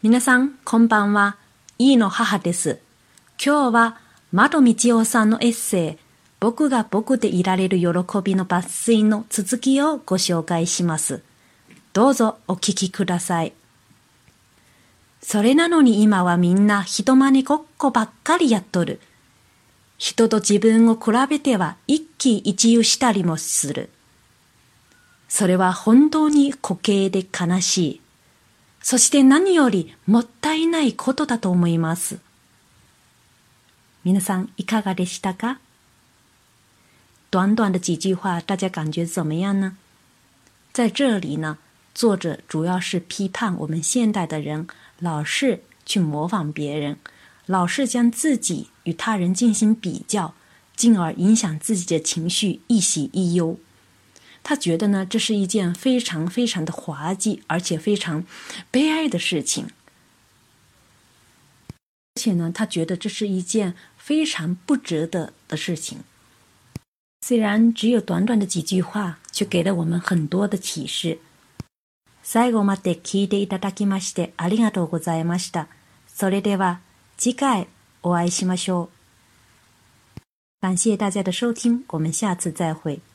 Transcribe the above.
皆さん、こんばんは。飯野母です。今日は窓道夫さんのエッセイ、僕が僕でいられる喜びの抜粋の続きをご紹介します。どうぞお聞きください。それなのに今はみんな人真似ごっこばっかりやっとる。人と自分を比べては一喜一憂したりもする。それは本当に滑稽で悲しい。そして何よりもったいないことだと思います。皆さんいかがでしたか？短短的几句话，大家感觉怎么样呢？在这里呢，作者主要是批判我们现代的人老是去模仿别人，老是将自己与他人进行比较，进而影响自己的情绪，一喜一忧。他觉得呢，这是一件非常非常的滑稽，而且非常悲哀的事情。而且呢，他觉得这是一件非常不值得的事情。虽然只有短短的几句话，却给了我们很多的启示。最後まで聞いていただきましてありがとうございました。それでは次回お会いしましょう。感谢大家的收听，我们下次再会。